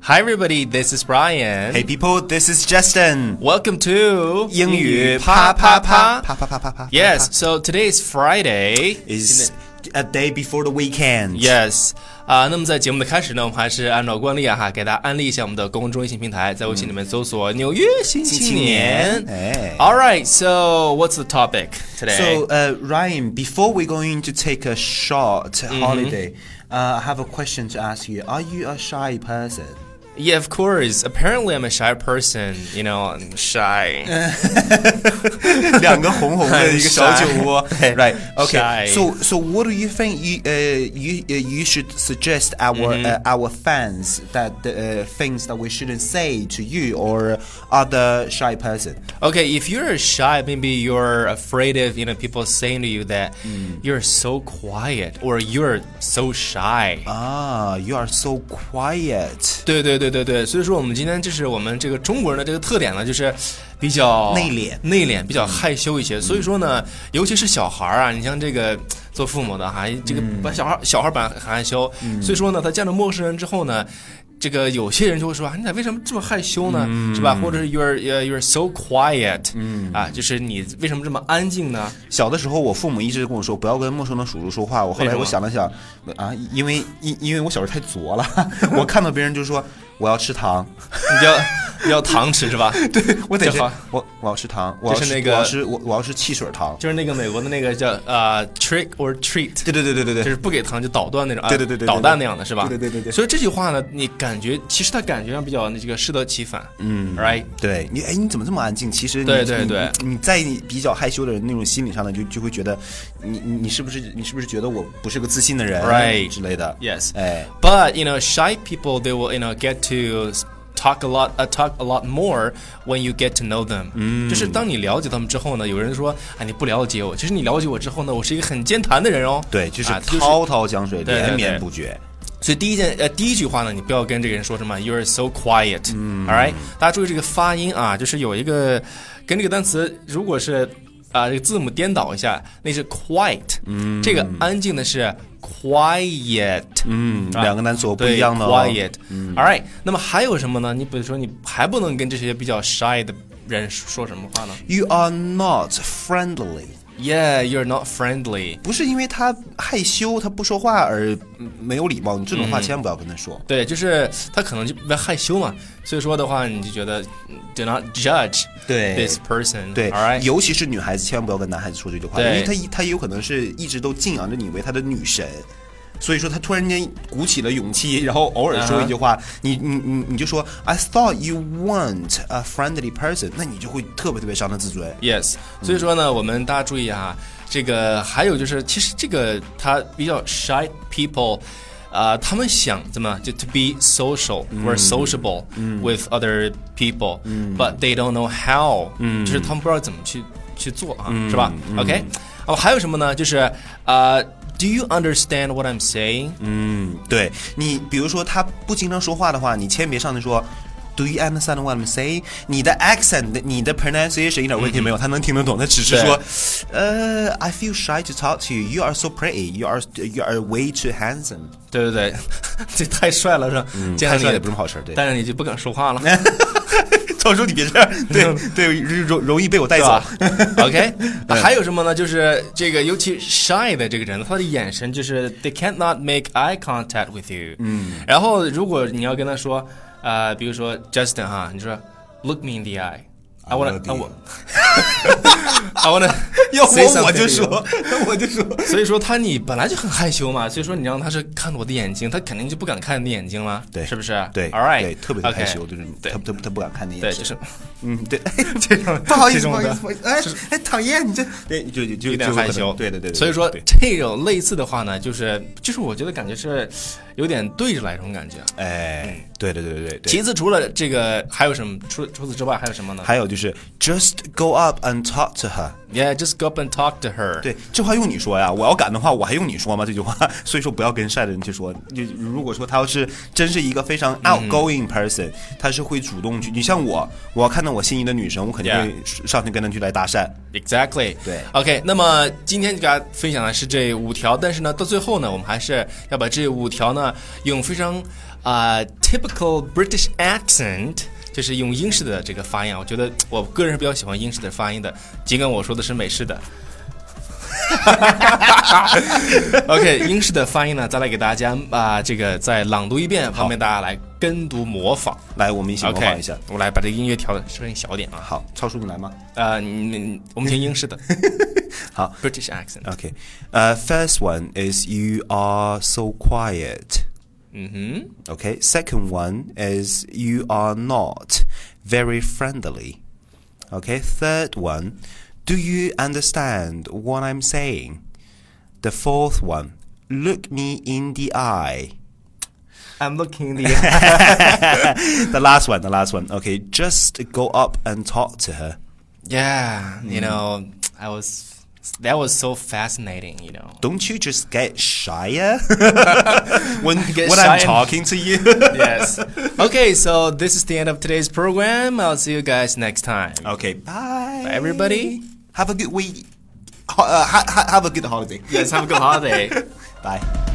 Hi everybody, this is Brian. Hey people, this is Justin. Welcome to 英语啪啪啪啪啪啪啪啪。 Yes, so today is Friday. Is a day before the weekend. Yes. 那么在节目的开始呢，我们还是按照惯例给大家安利一下我们的公众微信平台，在微信里面搜索纽约新青年。Alright, so what's the topic today? So, Ryan, before we're going to take a short holiday, I have a question to ask you. Are you a shy person? Yeah, of course. Apparently, I'm a shy person. You know, I'm shy. 两个红红的一个小酒窝。Right. Shy. Okay. So what do you think you should suggest our fans that things that we shouldn't say to you or other shy person? Okay, if you're shy, maybe you're afraid of people saying to you that you're so quiet or you're so shy. You are so quiet. 对，所以说我们今天这是我们这个中国人的这个特点呢，就是比较内敛，比较害羞一些。所以说呢，尤其是小孩啊，你像这个做父母的这个把小孩本来很害羞，所以说呢，他见到陌生人之后呢，这个有些人就会说你咋为什么这么害羞呢？是吧？或者是 you're so quiet，就是你为什么这么安静呢？ 小的时候，我父母一直跟我说不要跟陌生的叔叔说话。后来我想了想，因为我小时候太作了，我看到别人就说我要吃糖， 你要糖吃是吧？ 对，我得吃，我要吃糖，我要吃汽水糖， 就是那个美国的那个叫trick or treat， 对， 就是不给糖就捣断那种， 对， 捣蛋那样的是吧？ 对。 所以这句话呢，你其实它感觉上比较这个适得其反，right？ 对，你怎么这么安静？其实对， 你在比较害羞的人那种心理上呢，就会觉得你是不是觉得我不是个自信的人 ，right 之类的 ？Yes， But shy people they will get to talk a lot more when you get to know them。就是当你了解他们之后呢，有人说你不了解我，其实你了解我之后呢，我是一个很健谈的人哦。 对，就是滔滔江水，连绵不绝。 所以第一句话呢，你不要跟这个人说什么 You're so quiet，all right？ 大家注意这个发音就是有一个跟这个单词，如果是这个字母颠倒一下，那是 quiet，这个安静的是 quiet， 两个单词不一样的 quiet，all right。那么还有什么呢？你比如说，你还不能跟这些比较 shy 的人说什么话呢 ？You are not friendly。Yeah, you're not friendly。 不是因为他害羞，他不说话而没有礼貌，你这种话千万不要跟他说。 对，就是他可能就比较害羞嘛，所以说的话，你就觉得 do not judge this person。 对 ，all right。 尤其是女孩子，千万不要跟男孩子说这句话，因为他有可能是一直都敬仰着你为他的女神。所以说他突然间鼓起了勇气，然后偶尔说一句话，你就说 I thought you weren't a friendly person， 那你就会特别伤他自尊。 Yes， 所以说呢，我们大家注意这个还有就是，其实这个他比较 shy people，他们想怎么就 to be social or sociable with other people，but they don't know how，就是他们不知道怎么去做是吧？OK， 还有什么呢？就是Do you understand what I'm saying？ 对，你比如说他不经常说话的话，你千万别上来说 Do you understand what I'm saying？ 你的 accent， 你的 pronunciation 一点问题没有，他能听得懂。他只是说I feel shy to talk to you. You are so pretty. You are way too handsome. 对，这太帅了是吧？ 太帅也不是什么好事。对， 但是你就不敢说话了。 超叔，你别这样，对，容易被我带走。 OK， 还有什么呢？就是这个，尤其 shy 的这个人，他的眼神就是 they cannot make eye contact with you。然后如果你要跟他说，比如说 Justin 你说 look me in the eye。I wanna 要我就说， 所以说你本来就很害羞嘛，所以说你让他是看我的眼睛，他肯定就不敢看你的眼睛了， 对， 是不是？ 对 ，all right， 对，特别害羞，就是他不敢看你眼睛， 对，就是对， 这种不好意思，讨厌你这，对，就有点害羞， 对， 所以说这种类似的话呢，就是我觉得感觉是有点对着来这种感觉，对。 对。 其次除了这个还有什么？除此之外还有什么呢？ 还有就是 just go up and talk to her. Yeah, just go up and talk to her. 对，这话用你说呀，我要敢的话，我还用你说吗？这句话，所以说不要跟晒的人去说。就如果说他要是真是一个非常 outgoing person，他是会主动去。你像我要看到我心仪的女生，我肯定会上去跟她去来搭讪。 Exactly. 对 OK， 那么今天给大家分享的是这5条，但是呢，到最后呢，我们还是要把这5条呢，用非常typical British accent。就是用英式的这个发音，我觉得我个人是比较喜欢英式的发音的，尽管我说的是美式的。OK， 英式的发音呢，再来给大家这个再朗读一遍，方便大家来跟读模仿。 来，我们一起模仿一下。 我来把这个音乐调的声音小点啊。 好，超叔你来吗？ 我们听英式的。 好 ，British accent. OK， first one is you are so quiet. Okay, second one is you are not very friendly. Okay, third one, do you understand what I'm saying? The fourth one, look me in the eye. I'm looking in the eye. The last one. Okay, just go up and talk to her. Yeah, you know, that was so fascinating, you know. Don't you just get shyer when shy I'm talking to you? Yes. Okay, so this is the end of today's program. I'll see you guys next time. Okay, bye. Bye, everybody. Have a good week. Have a good holiday. Yes, have a good holiday. Bye.